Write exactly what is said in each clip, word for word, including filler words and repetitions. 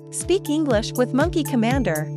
Speak English with Monkey Commander.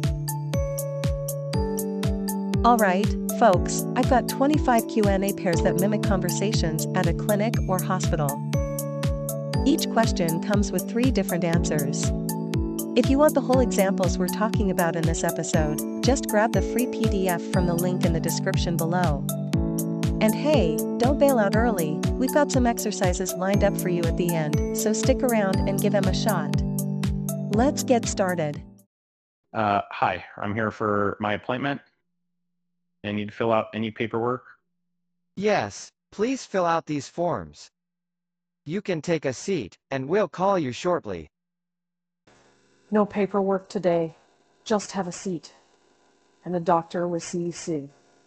Alright, folks, I've got twenty-five Q and A pairs that mimic conversations at a clinic or hospital. Each question comes with three different answers. If you want the whole examples we're talking about in this episode, just grab the free P D F from the link in the description below. And hey, don't bail out early, we've got some exercises lined up for you at the end, so stick around and give them a shot. Let's get started. Uh, hi, I'm here for my appointment. I need to fill out any paperwork. Yes, please fill out these forms. You can take a seat, and we'll call you shortly. No paperwork today. Just have a seat. And the doctor will see you soon.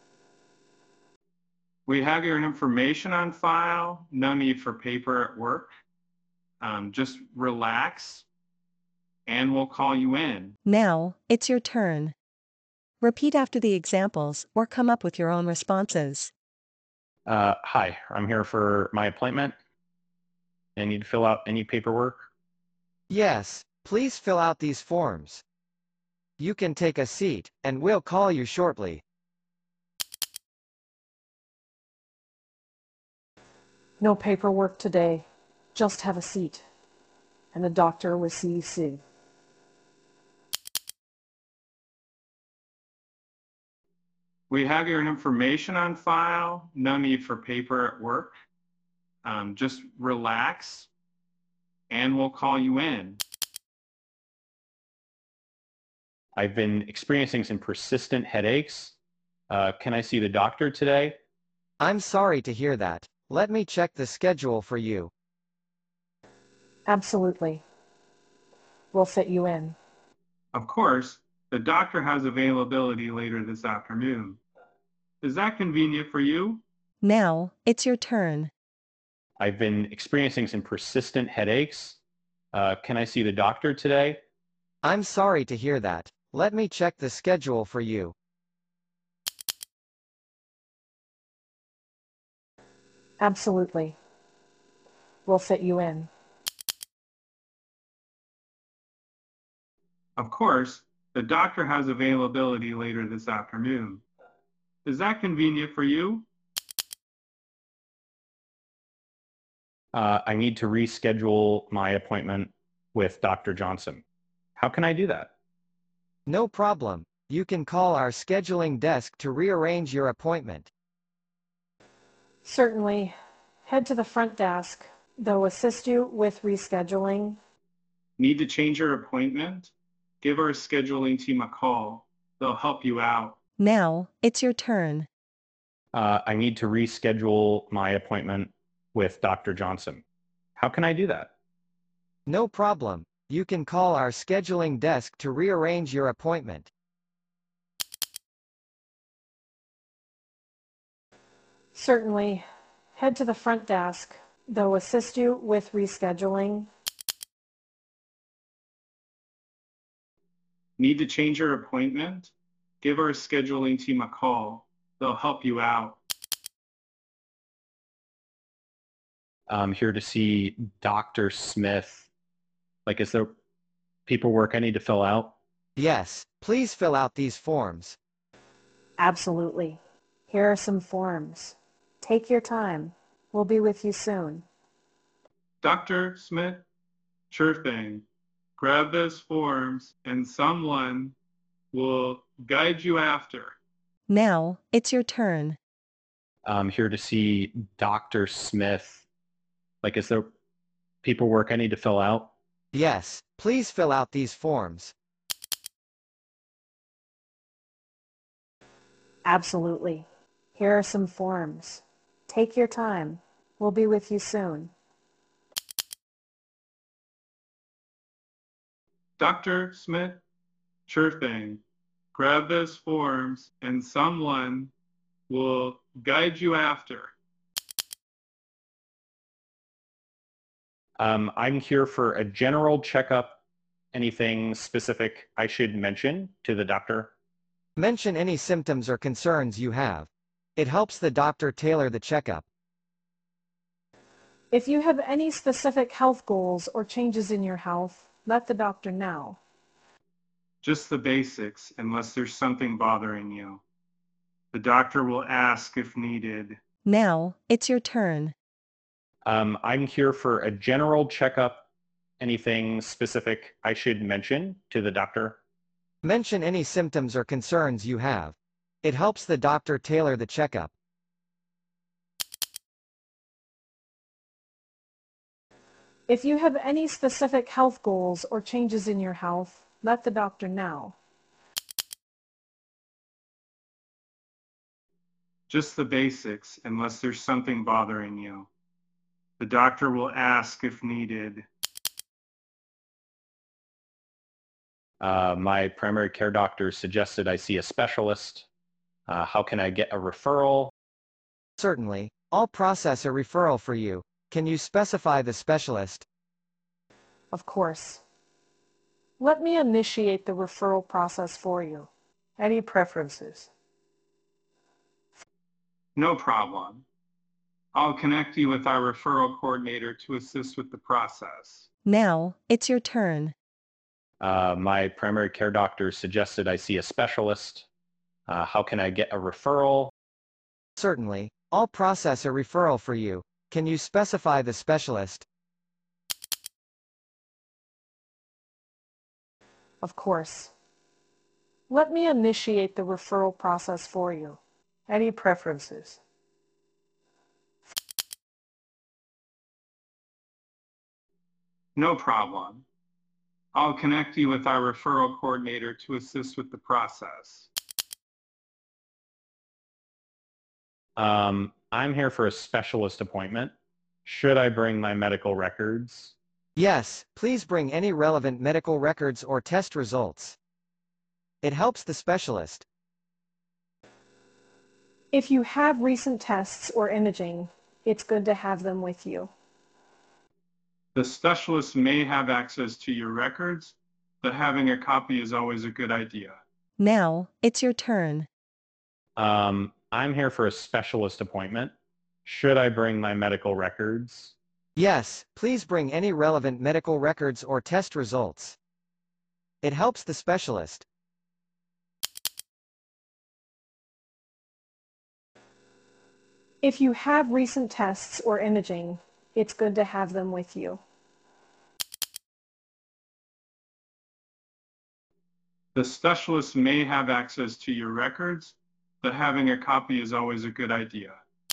We have your information on file. No need for paper at work. Um, just relax, and we'll call you in. Now, it's your turn. Repeat after the examples or come up with your own responses. Uh, hi, I'm here for my appointment. I need to fill out any paperwork. Yes, please fill out these forms. You can take a seat, and we'll call you shortly. No paperwork today. Just have a seat. And the doctor will see you soon. We have your information on file. No need for paper at work. Um, just relax, and we'll call you in. I've been experiencing some persistent headaches. Uh, can I see the doctor today? I'm sorry to hear that. Let me check the schedule for you. Absolutely. We'll fit you in. Of course, the doctor has availability later this afternoon. Is that convenient for you? Now, it's your turn. I've been experiencing some persistent headaches. Uh, can I see the doctor today? I'm sorry to hear that. Let me check the schedule for you. Absolutely. We'll fit you in. Of course, the doctor has availability later this afternoon. Is that convenient for you? Uh, I need to reschedule my appointment with Doctor Johnson. How can I do that? No problem. You can call our scheduling desk to rearrange your appointment. Certainly. Head to the front desk. They'll assist you with rescheduling. Need to change your appointment? Give our scheduling team a call. They'll help you out. Now, it's your turn. Uh, I need to reschedule my appointment with Doctor Johnson. How can I do that? No problem. You can call our scheduling desk to rearrange your appointment. Certainly. Head to the front desk. They'll assist you with rescheduling. Need to change your appointment? Give our scheduling team a call. They'll help you out. I'm here to see Doctor Smith. Like, is there paperwork I need to fill out? Yes, please fill out these forms. Absolutely. Here are some forms. Take your time. We'll be with you soon. Doctor Smith? Sure thing. Grab those forms and someone will guide you after. Now, it's your turn. I'm here to see Doctor Smith. Like, is there paperwork I need to fill out? Yes, please fill out these forms. Absolutely. Here are some forms. Take your time. We'll be with you soon. Doctor Smith? Sure thing. Grab those forms and someone will guide you after. Um, I'm here for a general checkup. Anything specific I should mention to the doctor? Mention any symptoms or concerns you have. It helps the doctor tailor the checkup. If you have any specific health goals or changes in your health, let the doctor know. Just the basics, unless there's something bothering you. The doctor will ask if needed. Now, it's your turn. Um, I'm here for a general checkup. Anything specific I should mention to the doctor? Mention any symptoms or concerns you have. It helps the doctor tailor the checkup. If you have any specific health goals or changes in your health, let the doctor know. Just the basics, unless there's something bothering you. The doctor will ask if needed. Uh, my primary care doctor suggested I see a specialist. Uh, how can I get a referral? Certainly, I'll process a referral for you. Can you specify the specialist? Of course. Let me initiate the referral process for you. Any preferences? No problem. I'll connect you with our referral coordinator to assist with the process. Now, it's your turn. Uh, my primary care doctor suggested I see a specialist. Uh, how can I get a referral? Certainly, I'll process a referral for you. Can you specify the specialist? Of course. Let me initiate the referral process for you. Any preferences? No problem. I'll connect you with our referral coordinator to assist with the process. Um, I'm here for a specialist appointment. Should I bring my medical records? Yes, please bring any relevant medical records or test results. It helps the specialist. If you have recent tests or imaging, it's good to have them with you. The specialist may have access to your records, but having a copy is always a good idea. Now, it's your turn. Um, I'm here for a specialist appointment. Should I bring my medical records? Yes, please bring any relevant medical records or test results. It helps the specialist. If you have recent tests or imaging, it's good to have them with you. The specialist may have access to your records, but having a copy is always a good idea.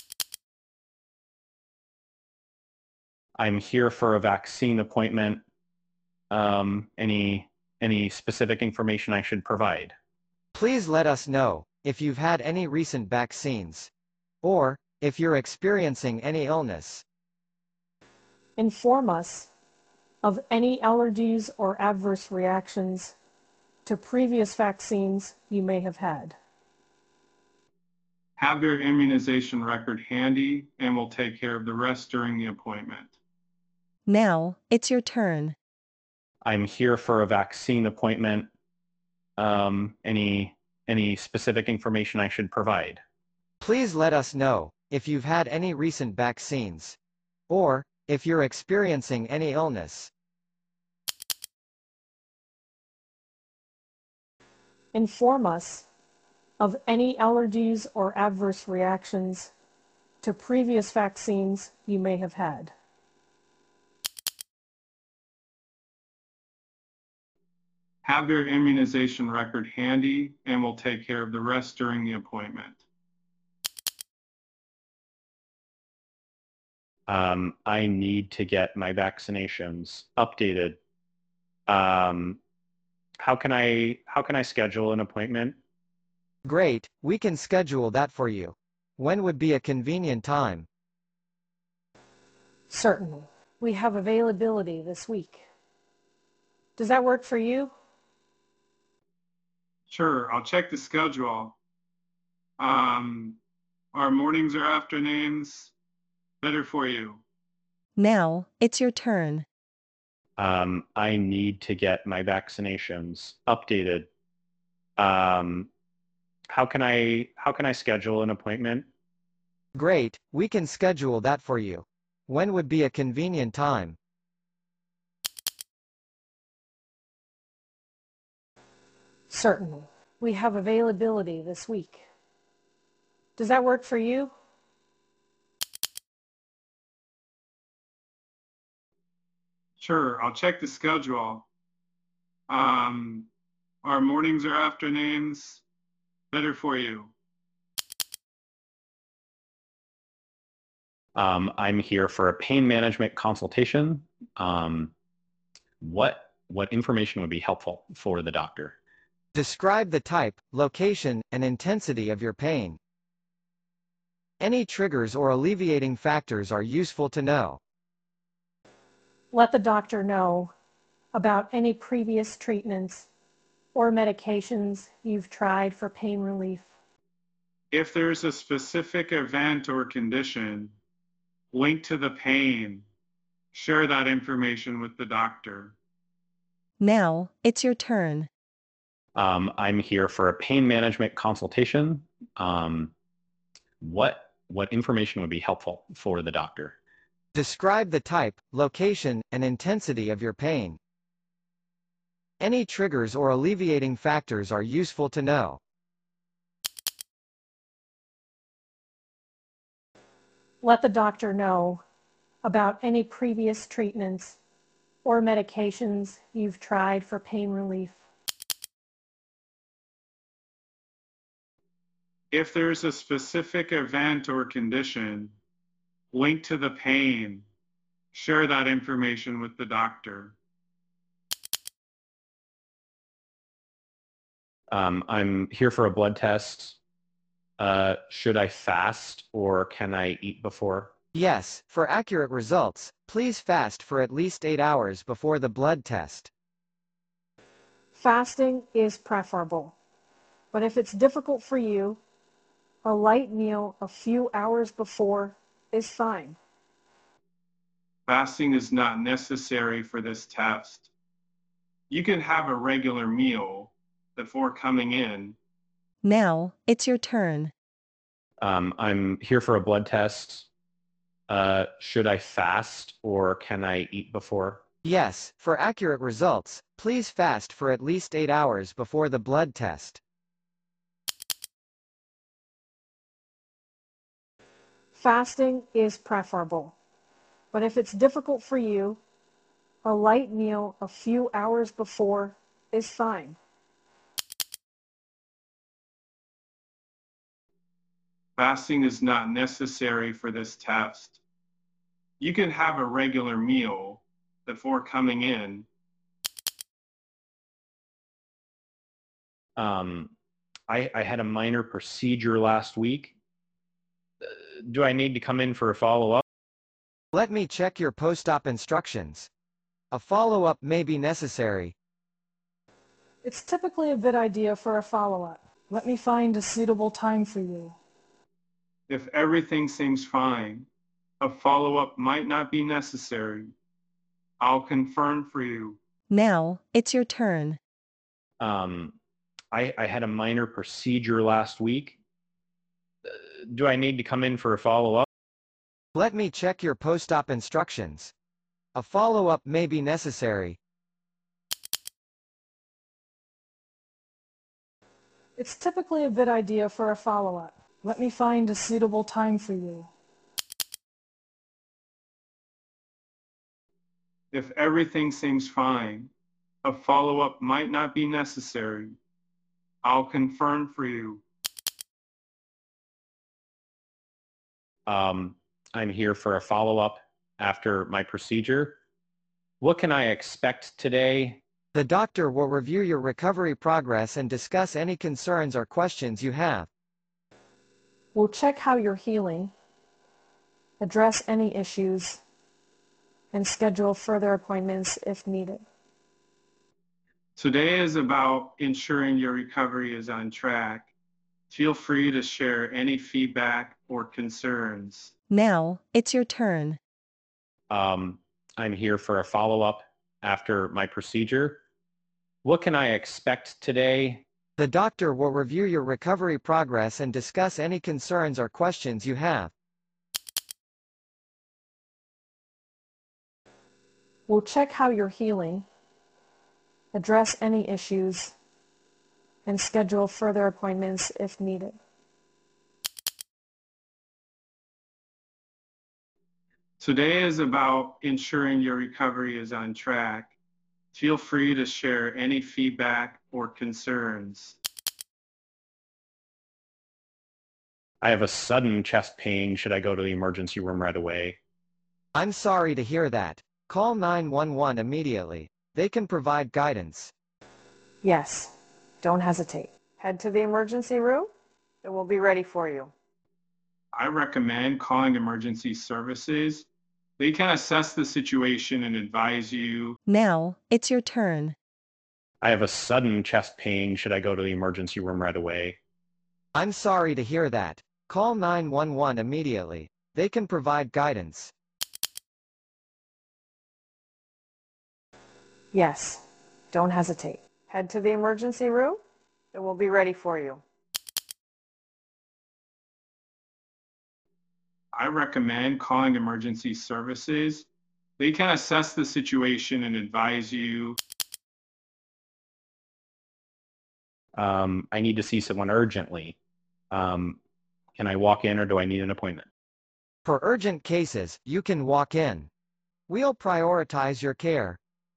I'm here for a vaccine appointment. Um, any, any specific information I should provide? Please let us know if you've had any recent vaccines, or if you're experiencing any illness. Inform us of any allergies or adverse reactions to previous vaccines you may have had. Have your immunization record handy, and we'll take care of the rest during the appointment. Now, it's your turn. I'm here for a vaccine appointment. Um, any, any specific information I should provide? Please let us know if you've had any recent vaccines, or if you're experiencing any illness. Inform us of any allergies or adverse reactions to previous vaccines you may have had. Have your immunization record handy, and we'll take care of the rest during the appointment. Um, I need to get my vaccinations updated. Um, how can I, how can I schedule an appointment? Great, we can schedule that for you. When would be a convenient time? Certainly. We have availability this week. Does that work for you? Sure, I'll check the schedule. Um, our mornings or afternoons better for you? Now, it's your turn. Um, I need to get my vaccinations updated. Um, how can I, how can I schedule an appointment? Great, we can schedule that for you. When would be a convenient time? Certainly. We have availability this week. Does that work for you? Sure, I'll check the schedule. Um, are mornings or afternoons better for you? Um, I'm here for a pain management consultation. Um, what what information would be helpful for the doctor? Describe the type, location, and intensity of your pain. Any triggers or alleviating factors are useful to know. Let the doctor know about any previous treatments or medications you've tried for pain relief. If there's a specific event or condition linked to the pain, share that information with the doctor. Now, it's your turn. Um, I'm here for a pain management consultation. Um, what what information would be helpful for the doctor? Describe the type, location, and intensity of your pain. Any triggers or alleviating factors are useful to know. Let the doctor know about any previous treatments or medications you've tried for pain relief. If there's a specific event or condition linked to the pain, share that information with the doctor. Um, I'm here for a blood test. Uh, should I fast or can I eat before? Yes, for accurate results, please fast for at least eight hours before the blood test. Fasting is preferable, but if it's difficult for you, a light meal a few hours before is fine. Fasting is not necessary for this test. You can have a regular meal before coming in. Now, it's your turn. Um, I'm here for a blood test. Uh, should I fast or can I eat before? Yes, for accurate results, please fast for at least eight hours before the blood test. Fasting is preferable, but if it's difficult for you, a light meal a few hours before is fine. Fasting is not necessary for this test. You can have a regular meal before coming in. Um, I, I had a minor procedure last week. Uh, do I need to come in for a follow-up? Let me check your post-op instructions. A follow-up may be necessary. It's typically a good idea for a follow-up. Let me find a suitable time for you. If everything seems fine, a follow-up might not be necessary. I'll confirm for you. Now, it's your turn. Um, I, I had a minor procedure last week. Uh, do I need to come in for a follow-up? Let me check your post-op instructions. A follow-up may be necessary. It's typically a good idea for a follow-up. Let me find a suitable time for you. If everything seems fine, a follow-up might not be necessary. I'll confirm for you. Um, I'm here for a follow-up after my procedure. What can I expect today? The doctor will review your recovery progress and discuss any concerns or questions you have. We'll check how you're healing, address any issues, and schedule further appointments if needed. Today is about ensuring your recovery is on track. Feel free to share any feedback or concerns. Now, it's your turn. Um, I'm here for a follow-up after my procedure. What can I expect today? The doctor will review your recovery progress and discuss any concerns or questions you have. We'll check how you're healing, address any issues, and schedule further appointments if needed. Today is about ensuring your recovery is on track. Feel free to share any feedback or concerns. I have a sudden chest pain. Should I go to the emergency room right away? I'm sorry to hear that. Call nine one one immediately. They can provide guidance. Yes, don't hesitate. Head to the emergency room. It will be ready for you. I recommend calling emergency services. They can assess the situation and advise you. Now, it's your turn. I have a sudden chest pain. Should I go to the emergency room right away? I'm sorry to hear that. Call nine one one immediately. They can provide guidance. Yes, don't hesitate. Head to the emergency room. It will be ready for you. I recommend calling emergency services. They can assess the situation and advise you. Um, I need to see someone urgently. Um, can I walk in or do I need an appointment? For urgent cases, you can walk in. We'll prioritize your care.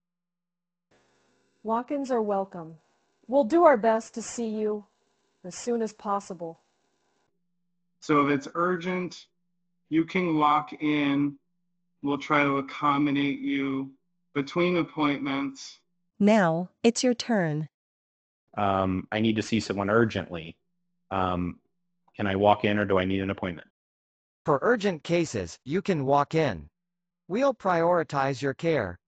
Walk-ins are welcome. We'll do our best to see you as soon as possible. So if it's urgent, you can walk in. We'll try to accommodate you between appointments. Now, it's your turn. Um, I need to see someone urgently. Um, can I walk in or do I need an appointment? For urgent cases, you can walk in. We'll prioritize your care.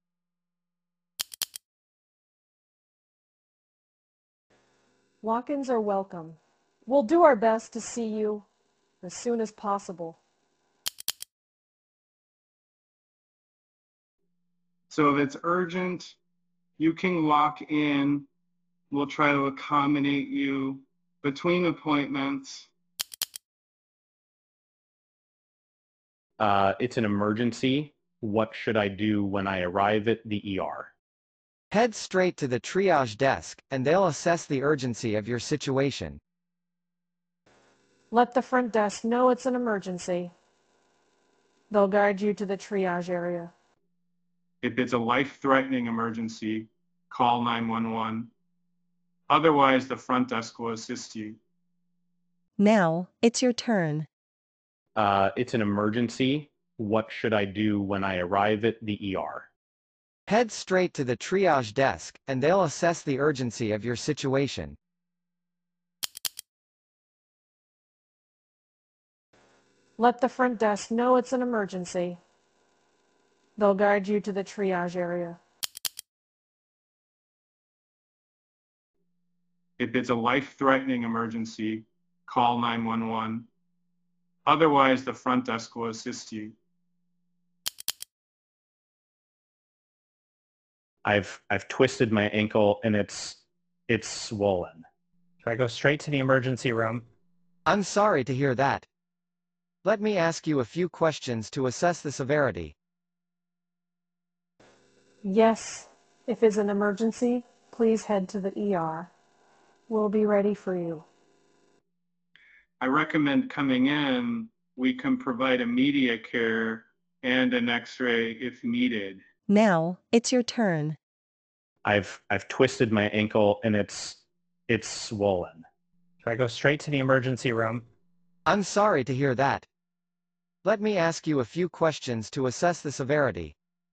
Walk-ins are welcome. We'll do our best to see you as soon as possible. So if it's urgent, you can walk in. We'll try to accommodate you between appointments. Uh, it's an emergency. What should I do when I arrive at the E R? Head straight to the triage desk, and they'll assess the urgency of your situation. Let the front desk know it's an emergency. They'll guide you to the triage area. If it's a life-threatening emergency, call nine one one. Otherwise, the front desk will assist you. Now, it's your turn. Uh, it's an emergency. What should I do when I arrive at the E R? Head straight to the triage desk, and they'll assess the urgency of your situation. Let the front desk know it's an emergency. They'll guide you to the triage area. If it's a life-threatening emergency, call nine one one. Otherwise, the front desk will assist you. I've I've twisted my ankle and it's it's swollen. Should I go straight to the emergency room? I'm sorry to hear that. Let me ask you a few questions to assess the severity. Yes, if it's an emergency, please head to the E R. We'll be ready for you. I recommend coming in. We can provide immediate care and an X-ray if needed. Now, it's your turn. I've I've twisted my ankle and it's it's swollen. Should I go straight to the emergency room? I'm sorry to hear that. Let me ask you a few questions to assess the severity.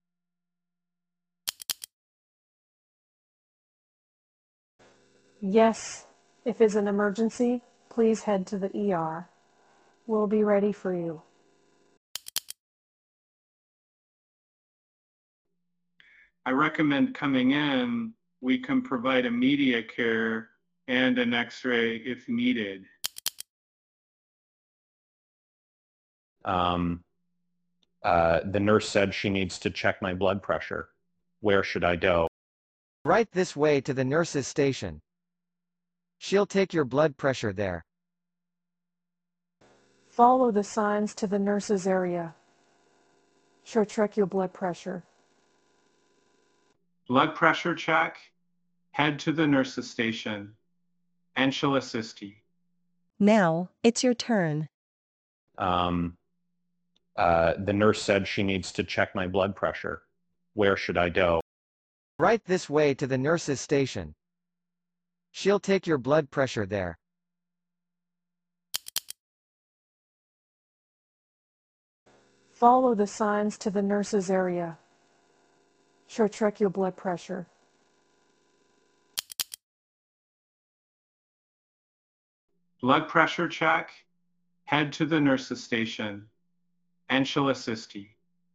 Yes, if it's an emergency, please head to the E R. We'll be ready for you. I recommend coming in. We can provide immediate care and an X-ray if needed. Um, uh, the nurse said she needs to check my blood pressure. Where should I go? Right this way to the nurse's station. She'll take your blood pressure there. Follow the signs to the nurse's area. She'll check your blood pressure. Blood pressure check. Head to the nurse's station. and she'll assist you. Now, it's your turn. Um, uh, the nurse said she needs to check my blood pressure. Where should I go? Right this way to the nurse's station. She'll take your blood pressure there. Follow the signs to the nurse's area. She'll check your blood pressure. Blood pressure check, head to the nurse's station, and she'll assist you.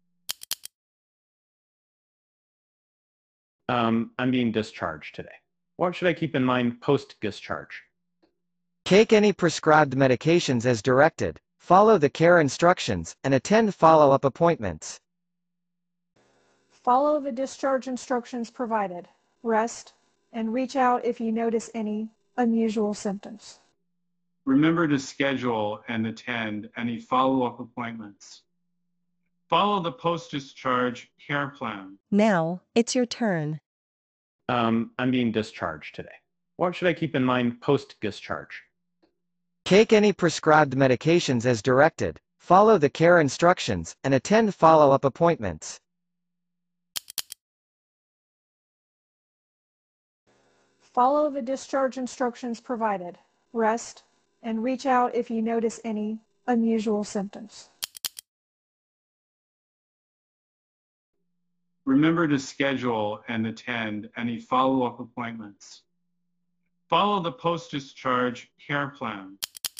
Um, I'm being discharged today. What should I keep in mind post-discharge? Take any prescribed medications as directed, follow the care instructions, and attend follow-up appointments. Follow the discharge instructions provided. Rest and reach out if you notice any unusual symptoms. Remember to schedule and attend any follow-up appointments. Follow the post-discharge care plan. Now, it's your turn. Um, I'm being discharged today. What should I keep in mind post-discharge? Take any prescribed medications as directed, follow the care instructions, and attend follow-up appointments. Follow the discharge instructions provided. Rest and reach out if you notice any unusual symptoms. Remember to schedule and attend any follow-up appointments. Follow the post-discharge care plan.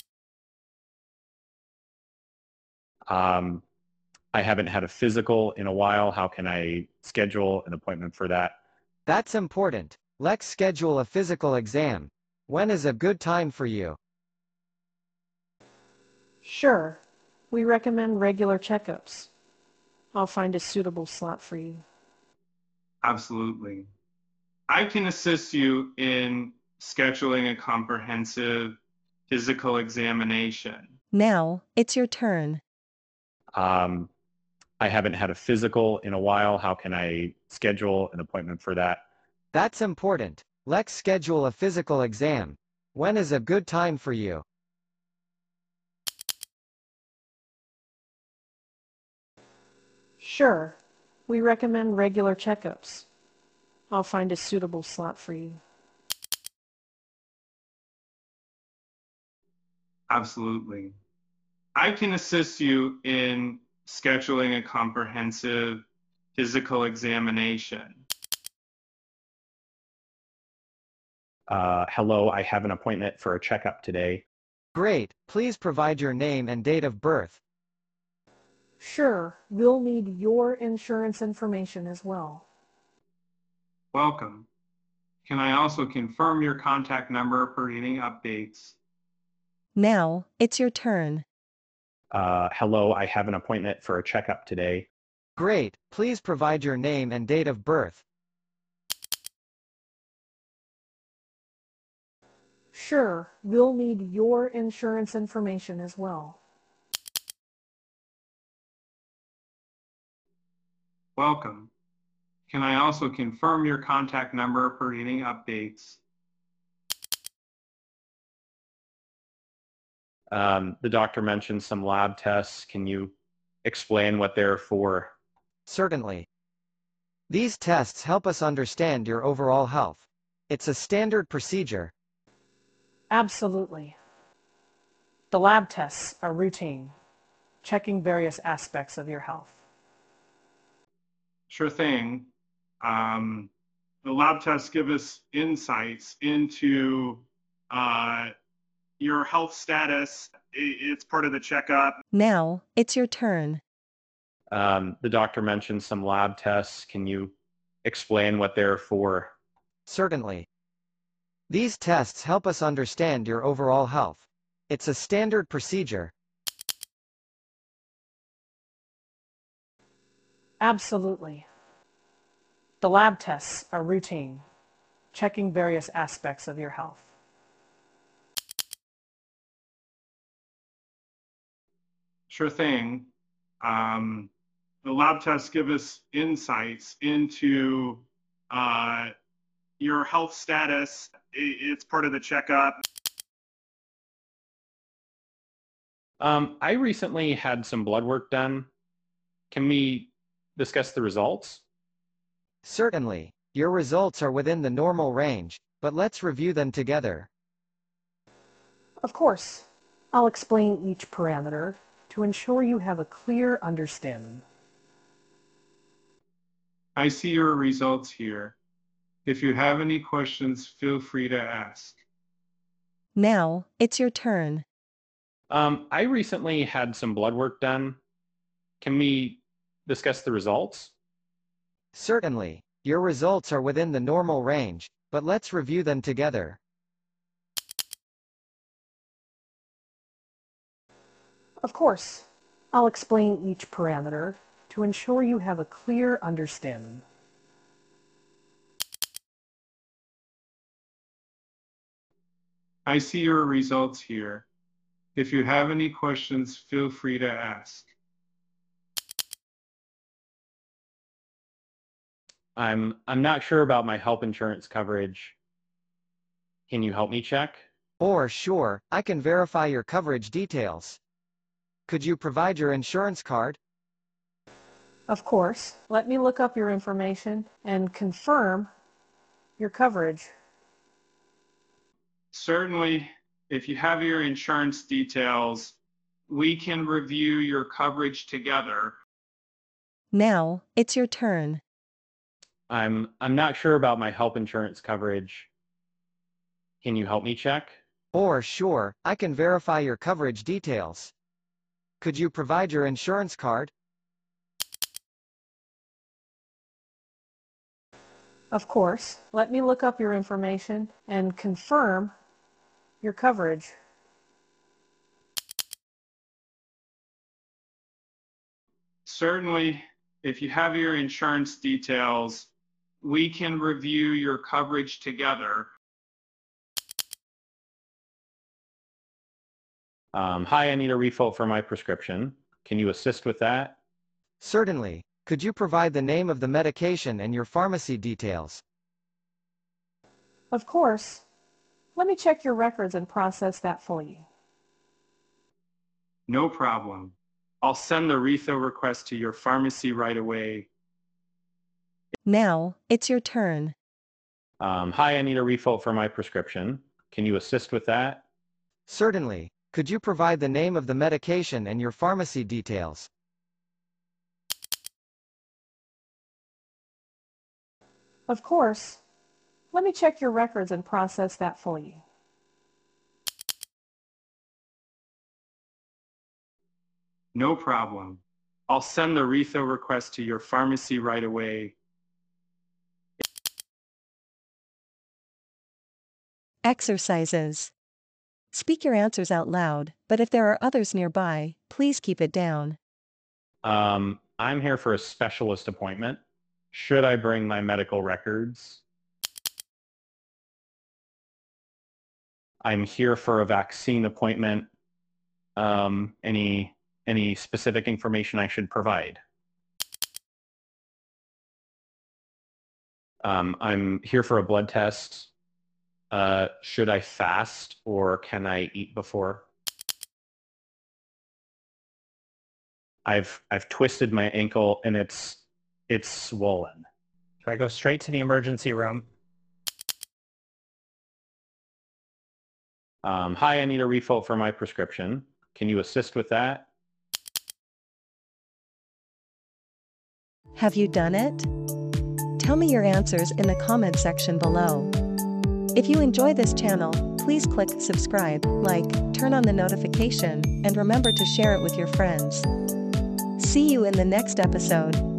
Um, I haven't had a physical in a while. How can I schedule an appointment for that? That's important. Let's schedule a physical exam. When is a good time for you? Sure, we recommend regular checkups. I'll find a suitable slot for you. Absolutely. I can assist you in scheduling a comprehensive physical examination. Now, it's your turn. Um, I haven't had a physical in a while. How can I schedule an appointment for that? That's important. Let's schedule a physical exam. When is a good time for you? Sure, we recommend regular checkups. I'll find a suitable slot for you. Absolutely. I can assist you in scheduling a comprehensive physical examination. Uh, hello, I have an appointment for a checkup today. Great, please provide your name and date of birth. Sure, we'll need your insurance information as well. Welcome. Can I also confirm your contact number for any updates? Now, it's your turn. Uh, hello, I have an appointment for a checkup today. Great, please provide your name and date of birth. Sure, we'll need your insurance information as well. Welcome. Can I also confirm your contact number for any updates? Um, the doctor mentioned some lab tests. Can you explain what they're for? Certainly. These tests help us understand your overall health. It's a standard procedure. Absolutely. The lab tests are routine, checking various aspects of your health. Sure thing. Um, the lab tests give us insights into uh, your health status. It's part of the checkup. Now, it's your turn. Um, the doctor mentioned some lab tests. Can you explain what they're for? Certainly. These tests help us understand your overall health. It's a standard procedure. Absolutely. The lab tests are routine, checking various aspects of your health. Sure thing. Um, the lab tests give us insights into uh, your health status. It's part of the checkup. Um, I recently had some blood work done. Can we discuss the results? Certainly. Your results are within the normal range, but let's review them together. Of course, I'll explain each parameter to ensure you have a clear understanding. I see your results here. If you have any questions, feel free to ask. Now, it's your turn. Um, I recently had some blood work done. Can we discuss the results? Certainly. Your results are within the normal range, but let's review them together. Of course, I'll explain each parameter to ensure you have a clear understanding. I see your results here. If you have any questions, feel free to ask. I'm I'm not sure about my health insurance coverage. Can you help me check? Or sure, I can verify your coverage details. Could you provide your insurance card? Of course, let me look up your information and confirm your coverage. Certainly, if you have your insurance details, we can review your coverage together. Now, it's your turn. I'm I'm not sure about my health insurance coverage. Can you help me check? Or sure, I can verify your coverage details. Could you provide your insurance card? Of course, let me look up your information and confirm your coverage. Certainly, if you have your insurance details, we can review your coverage together. Um, hi, I need a refill for my prescription. Can you assist with that? Certainly. Could you provide the name of the medication and your pharmacy details? Of course. Let me check your records and process that for you. No problem. I'll send the refill request to your pharmacy right away. Now, it's your turn. Um, hi, I need a refill for my prescription. Can you assist with that? Certainly. Could you provide the name of the medication and your pharmacy details? Of course. Let me check your records and process that for you. No problem. I'll send the refill request to your pharmacy right away. Exercises. Speak your answers out loud, but if there are others nearby, please keep it down. Um, I'm here for a specialist appointment. Should I bring my medical records? I'm here for a vaccine appointment. Um, any, any specific information I should provide? Um, I'm here for a blood test. Uh, should I fast or can I eat before? I've I've twisted my ankle and it's it's swollen. Should I go straight to the emergency room? Um, hi, I need a refill for my prescription. Can you assist with that? Have you done it? Tell me your answers in the comment section below. If you enjoy this channel, please click subscribe, like, turn on the notification, and remember to share it with your friends. See you in the next episode.